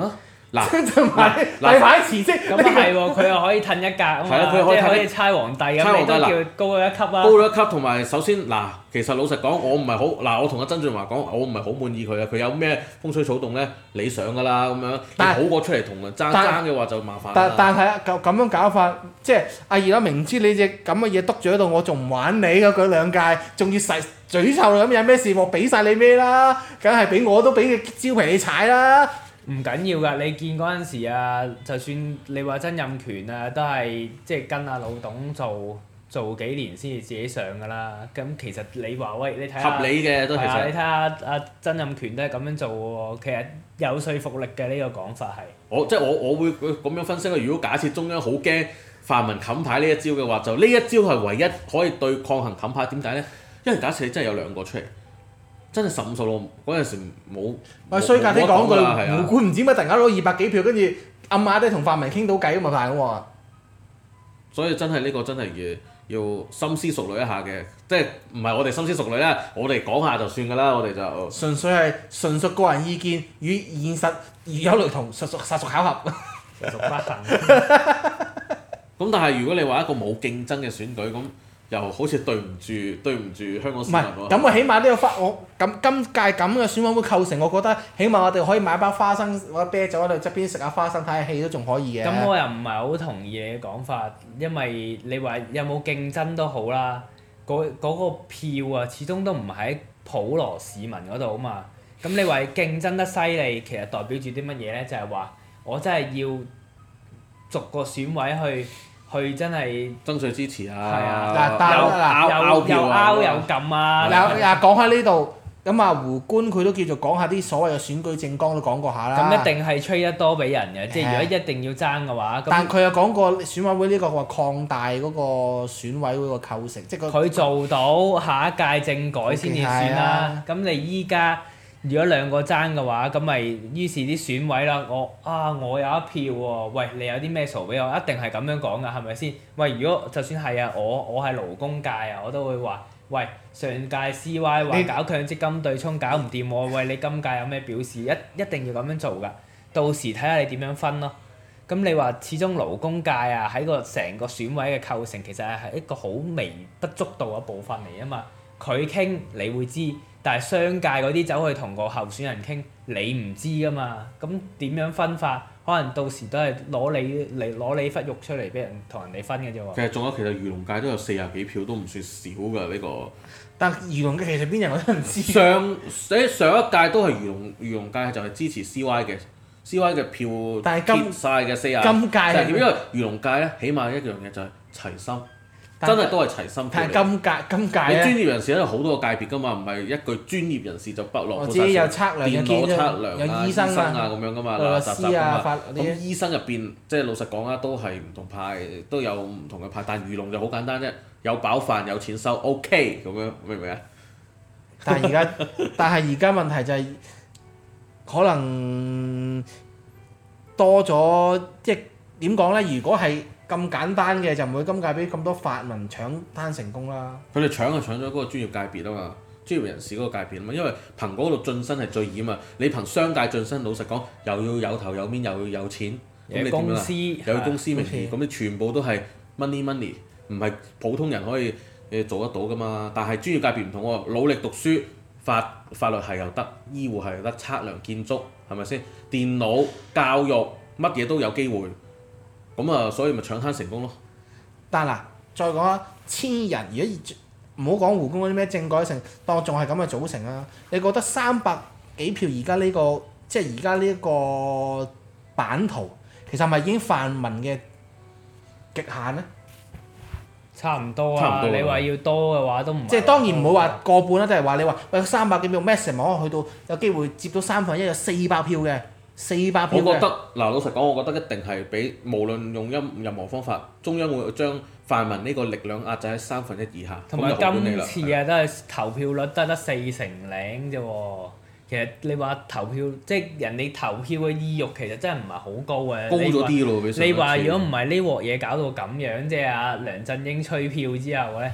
嗱就係例牌辭職。 咁啊係喎，佢又可以褪一格啊嘛， 係啊佢可以褪即係可以猜皇帝咁，你都叫高咗一級啊。 高咗一級，同埋首先嗱，其實老實講，我唔係好嗱，我同阿曾俊華講，我唔係好滿意佢啊。佢有咩風吹草動咧，你上㗎啦咁樣，你好過出嚟同人爭嘅話就麻煩啦。 但係啊，咁樣搞法，即係阿二啦，明知你隻咁嘅嘢篤住喺度，我仲唔玩你㗎？佢兩屆，仲要嘴臭咁，有咩事我俾晒你咩啦？梗係俾我都俾個招皮你踩啦！ 唔緊要㗎，你見嗰陣時啊，就算你話曾蔭權啊，都係即係跟阿老董做幾年先至自己上㗎啦。咁其實你話喂，你睇下合理嘅都其實。 你睇下阿曾蔭權都係咁樣做喎，其實有說服力嘅呢個講法係。 我會咁樣分析啦。如果假設中央好驚泛民冚牌呢一招嘅話，就呢一招係唯一可以對抗衡冚牌。點解咧？因為假設你真係有兩個出嚟，真係15、16嗰陣時冇。 喂，衰格啲講句， 胡胡官唔知乜突然間攞200幾票，跟住暗啞啲同泛民傾到偈咁咪大喎。 所以真係呢個真係要深思熟慮一下嘅，即係唔係我哋深思熟慮啦，我哋講下就算㗎啦，我哋就純粹係純屬個人意見，與現實如有雷同，實屬巧合。 實屬不幸。 咁但係如果你話一個冇競爭嘅選舉，咁又好似對唔住香港市民喎。 咁啊，起碼都有今屆咁嘅選委會構成，我覺得起碼我哋可以買包花生或者啤酒喺度側邊食下花生睇下戲都仲可以嘅。 咁我又唔係好同意你嘅講法，因為你話有冇競爭都好啦，嗰個票啊，始終都唔喺普羅市民嗰度啊嘛。咁你話競爭得犀利，其實代表住啲乜嘢咧？就係話我真係要逐個選委去真係爭取支持係啊！ 又票拗又撳啊！ 講開呢度，咁啊胡官佢都叫做講下啲所謂嘅選舉政綱都講過下啦。 咁一定係吹得多俾人嘅，即係如果一定要爭嘅話， 但佢又講過選委會呢個話擴大嗰個選委會個構成，即係佢做到下一屆政改先至算啦。咁你依家如果兩個爭嘅話，咁咪於是啲選委啦，我有一票喎，喂你有啲咩數俾我？一定係咁樣講㗎，係咪先？喂，如果就算係啊，我係勞工界啊，我都會話，喂上屆 CY 話搞強積金對沖搞唔掂喎，喂你今屆有咩表示？一定要咁樣做㗎，到時睇下你點樣分咯。咁你話始終勞工界啊，喺個成個選委嘅構成其實係一個好微不足道嘅部分嚟啊嘛。佢傾你會知，但係商界嗰啲走去同個候選人傾，你唔知㗎嘛。咁點樣分法？可能到時都係攞你忽肉出嚟俾人同人哋分嘅啫喎。 其實漁農界都有40幾票，都唔算少㗎呢個。 但漁農界其實邊人我都唔知。 上一屆都係漁農界就係支持 CY 嘅，CY 嘅票但係貼曬嘅40。 今屆係因為漁農界咧，起碼一樣嘢就係齊心。真係都係齊心票嚟。 今屆咧， 你專業人士咧好多個界別㗎嘛，唔係一句專業人士就不落。 我自己有測量電腦測量有醫生啊咁樣㗎嘛， 律師啊咁醫生入邊即係老實講啦，都係唔同派，都有唔同嘅派。但漁農就好簡單啫，有飽飯有錢收 ，OK 咁樣，明唔明啊？ 但係而家問題就係可能多咗，即係點講咧？如果係咁簡單嘅就唔會今屆俾咁多泛民搶攤成功啦。 佢哋搶咗嗰個專業界別啊嘛，專業人士嗰個界別啊嘛，因為憑嗰度晉身係最易啊嘛。你憑商界晉身，老實講又要有頭有面，又要有錢，咁你點樣啊？又要公司名義，咁你全部都係 money，唔係普通人可以做得到噶嘛。但係專業界別唔同喎，努力讀書，法律系又得，醫護系又得，測量建築係咪先？電腦教育乜嘢都有機會。咁啊，所以咪搶攤成功咯。 但嗱，再講啊，1000人，如果唔好講胡官嗰啲咩政改成，當仲係咁嘅組成啊，你覺得300幾票而家呢個即係而家呢個版圖，其實係咪已經泛民嘅極限咧？ 差唔多啊！你話要多嘅話都唔即係當然唔好話過半啦，即係話你話喂300幾票 maximum 可能去到有機會接到1/3有400票嘅。400票嘅。 我覺得老實講，我覺得一定係俾無論用任何方法，中央會將泛民呢個力量壓制喺1/3以下。 同埋今次啊，都係投票率得40%啫喎。其實你話投票，即係人哋投票嘅意欲其實真係唔係好高嘅。 高咗啲咯， 你話如果唔係呢鑊嘢搞到咁樣，即係阿梁振英吹票之後咧，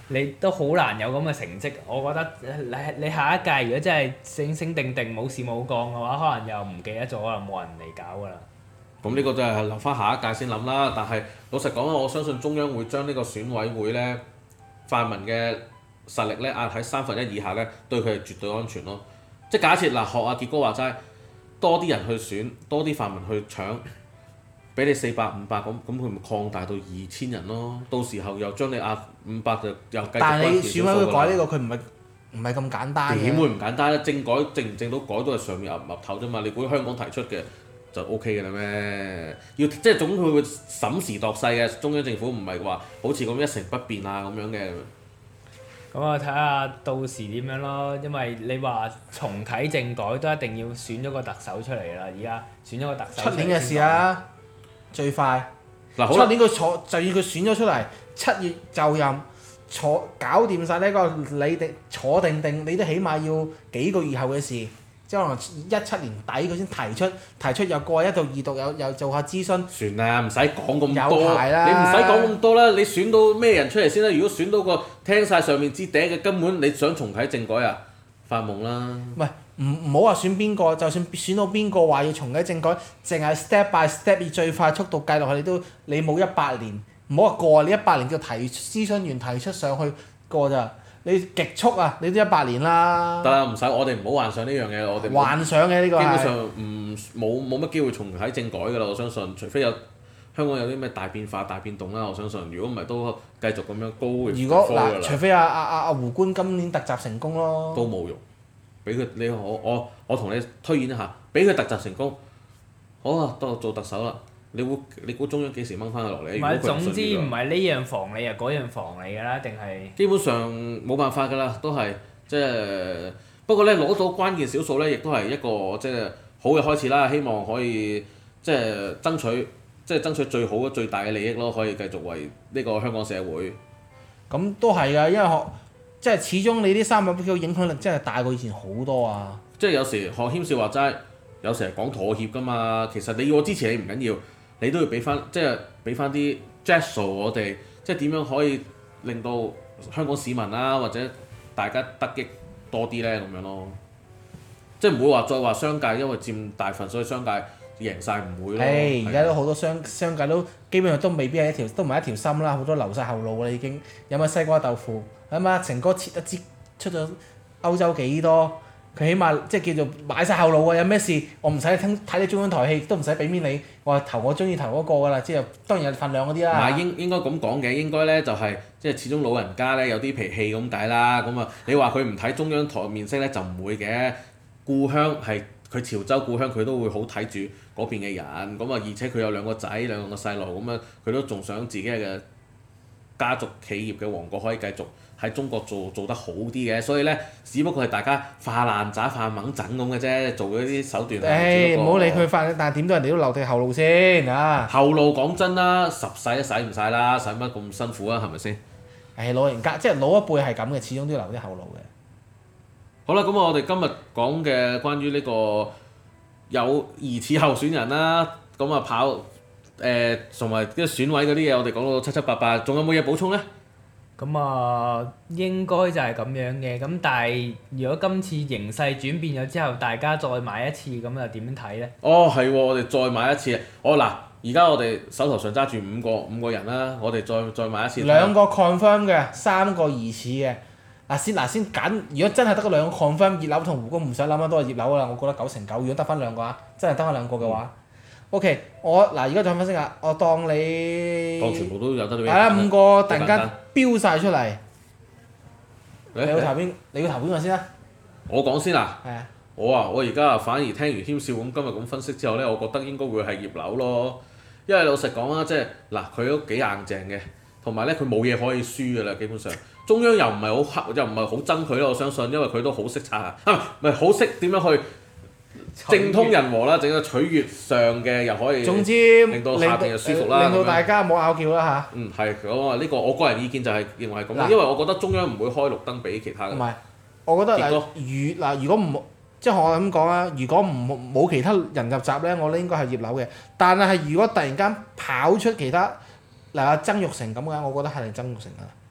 你都好難有咁嘅成績。我覺得你下一屆如果真係醒定冇事冇幹嘅話，可能又唔記得咗，可能冇人嚟搞㗎啦。 咁呢個就係留翻下一屆先諗啦。但係老實講啦，我相信中央會將呢個選委會咧，泛民嘅實力咧壓喺1/3以下咧，對佢係絕對安全咯。即係假設嗱，學阿傑哥話齋，多啲人去選，多啲泛民去搶，俾你400、500咁佢咪擴大到2000人咯。到時候又將你壓500就又繼續但係你關鍵選委會改呢個個，佢唔係咁簡單嘅。 點會唔簡單咧？政改正唔正到改都係上面岌頭啫嘛。你估香港提出嘅就 O K 嘅啦咩？要即係總佢會審時度勢嘅，中央政府唔係話好似咁一成不變啊咁樣嘅。 咁我睇下到時點樣咯，因為你話重啟政改都一定要選咗個特首出嚟啦，而家選咗個特首。 出年嘅事啊，最快。 嗱好出年佢就要佢選咗出嚟，7月就任，搞掂晒呢個你哋坐定，你都起碼要幾個月後嘅事。即係可能17年底佢先提出又過1到2讀，又做下諮詢。 算啦，唔使講咁多。 有排啦你唔使講咁多啦，你選到咩人出嚟先啦？如果選到個聽晒上面支笛嘅，根本你想重啟政改啊？發夢啦！ 唔係唔好話選邊個，就算選到邊個話要重啟政改，淨係 step by step 以最快速度計落去，你冇100年，唔好話過你100年就諮詢員提出上去過咋。你極速啊！你都100年啦。 得啦，唔使我哋唔好幻想呢樣嘢，我哋幻想嘅呢個基本係。 上冇乜機會重啟政改㗎啦，我相信，除非香港有啲咩大變化、大變動啦，我相信。如果唔係都繼續咁樣高嘅如果科㗎啦。 除非阿胡官今年突襲成功咯。 都冇用，俾佢我同你推演一下，俾佢突襲成功，好啊，到做特首啦。你估中央幾時掹翻佢落嚟？ 唔係， 如果佢總之信呢唔係呢樣防你啊，嗰樣防你㗎啦，定係？ 基本上冇辦法㗎啦，都係即係不過咧攞到關鍵少數咧，亦都係一個即係好嘅開始啦。希望可以即係爭取最好最大嘅利益咯，可以繼續為呢個香港社會。 咁都係㗎，因為即係始終你啲300票影響力真係大過以前好多啊。 即係有時學謙少話齋，有時係講妥協㗎嘛。其實你要我支持你唔緊要，你都要俾翻啲 gesture 我哋，即係點樣可以令到香港市民啦，或者大家得益多啲咧咁樣咯。即係唔會話再話商界因為佔大份，所以商界贏晒，唔會咯。 而家都好多商界都基本上都未必係都唔係一條心啦，好多流晒後路啦已經。有乜西瓜豆腐？係嘛？成哥切一支出咗歐洲幾多？佢起碼即係叫做買晒後路啊！有咩事我唔使睇你中央台戲，都唔使俾面你，我投我中意投嗰個㗎啦。即係當然有份量嗰啲啦。 唔係應該咁講嘅，應該咧就係即係始終老人家咧有啲脾氣咁解啦。咁啊，你話佢唔睇中央台面色咧就唔會嘅。故鄉係佢潮州故鄉，佢都會好睇住嗰邊嘅人。咁啊，而且佢有2個仔2個細路咁樣，佢都仲想自己嘅家族企業嘅王國可以繼續喺中國做得好啲嘅，所以咧，只不過係大家化爛渣化猛整咁嘅啫，做嗰啲手段。 唔好理佢化，但係點都人哋都留定後路先啊！ 後路講真啦，10世都使唔晒啦，使乜咁辛苦啊？係咪先？ 老人家即係老一輩係咁嘅，始終都要留啲後路嘅。 好啦，咁我哋今日講嘅關於呢個有疑似候選人啦，咁啊跑同埋啲選委嗰啲嘢，我哋講到七七八八，仲有冇嘢補充咧？ 咁啊，應該就係咁樣嘅。咁但係如果今次形勢轉變咗之後，大家再買一次，咁又點樣睇咧？ 哦，係喎，我哋再買一次。嗱，而家我哋手頭上揸住五個人啦，我哋再買一次。 2個 confirm 嘅，3個疑似嘅。先揀，如果真係得嗰2個 confirm，葉劉同胡官唔使諗啦，都係葉劉啦。我覺得9成9。如果得翻2個啊，真係得翻2個嘅話。OK，而家再分析下，我當你當全部都有得你。 係啦，5個突然間飆晒出嚟。你要投邊個先啊？ 我講先啊！ 係啊。 我而家反而聽完謙少咁今日咁分析之後咧，我覺得應該會係葉劉咯。因為老實講啦，即係嗱，佢都幾硬淨嘅，同埋咧佢冇嘢可以輸㗎啦，基本上。中央又唔係好黑，又唔係好憎佢咯，我相信，因為佢都好識拆啊，唔係好識點樣去政通人和啦，整個取悅上嘅又可以， 總之令到下邊又舒服啦， 令到大家冇拗撬啦嚇。 係咁啊！呢個我個人意見就係認為係咁，因為我覺得中央唔會開綠燈俾其他嘅。 唔係，我覺得如果唔即係我咁講啊，如果唔冇其他人入閘咧，我覺得應該係葉劉嘅。但係如果突然間跑出其他阿曾鈺成咁嘅，我覺得係曾鈺成啊。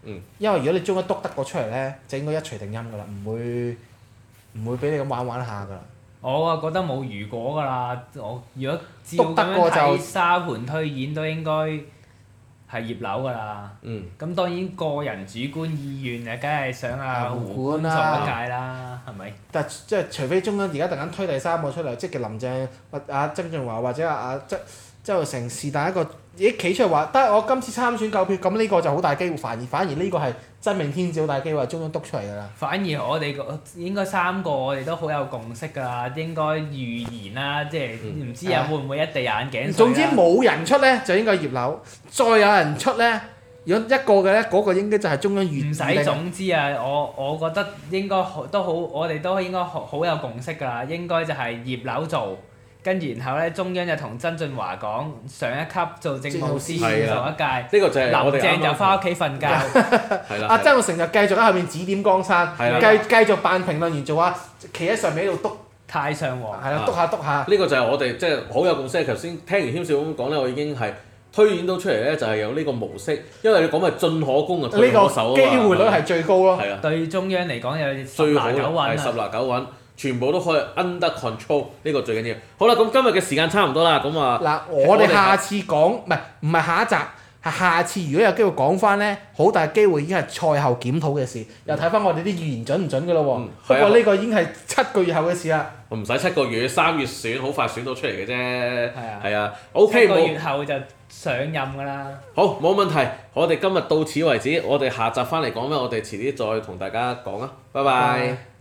因為如果你中央督得過出嚟咧，就應該一錘定音㗎啦，唔會俾你咁玩下㗎啦。 我啊覺得冇如果㗎啦，我如果照咁篤得過就樣睇沙盤推演都應該係葉劉㗎啦。咁當然個人主觀意願啊，梗係想胡官做一屆啦，係咪？ 但係即係除非中央而家突然間推第三個出嚟，即係林鄭或曾俊華或者周浩成是但一個企出嚟話得我今次參選夠票，咁呢個就好大機會，反而呢個係真命天子好大機會係中央督出嚟㗎啦。 反而我哋應該3個我哋都好有共識㗎啦，應該預言啦，即係唔知會唔會一地眼鏡水啦。 總之冇人出咧就應該葉劉，再有人出咧，如果一個嘅咧，嗰個應該就係中央預。 唔使總之啊，我覺得應該都好，我哋都應該好有共識㗎啦，應該就係葉劉做。跟住然後咧，中央就同曾俊華講上一級做政務司做一屆， 呢個就係我哋林鄭就翻屋企瞓覺。 阿曾鈺成就繼續喺後面指點江山，繼續扮評論員做企喺上面喺度督太上皇。 係啦，督下。 呢個就係我哋即係好有共識。頭先聽完軒少咁講咧，我已經係推演到出嚟咧，就係有呢個模式，因為你講係進可攻啊，退可守啊嘛。 呢個機會率係最高咯。 係啊。 對中央嚟講有最好 10拿9穩啊。 係10拿9穩。全部都可以 under control， 呢個最緊要。好啦，咁今日嘅時間差唔多啦，咁啊。 嗱，我哋下次講，唔係下一集，係下次如果有機會講翻咧，好大機會已經係賽後檢討嘅事，又睇翻我哋啲預言準唔準㗎咯喎。不過呢個已經係7個月後嘅事啦。 唔使7個月，3月選，好快選到出嚟嘅啫。係啊。 OK， 7個月後就上任㗎啦。 好，冇問題。我哋今日到此為止，我哋下集翻嚟講咩？我哋遲啲再同大家講啊。拜拜。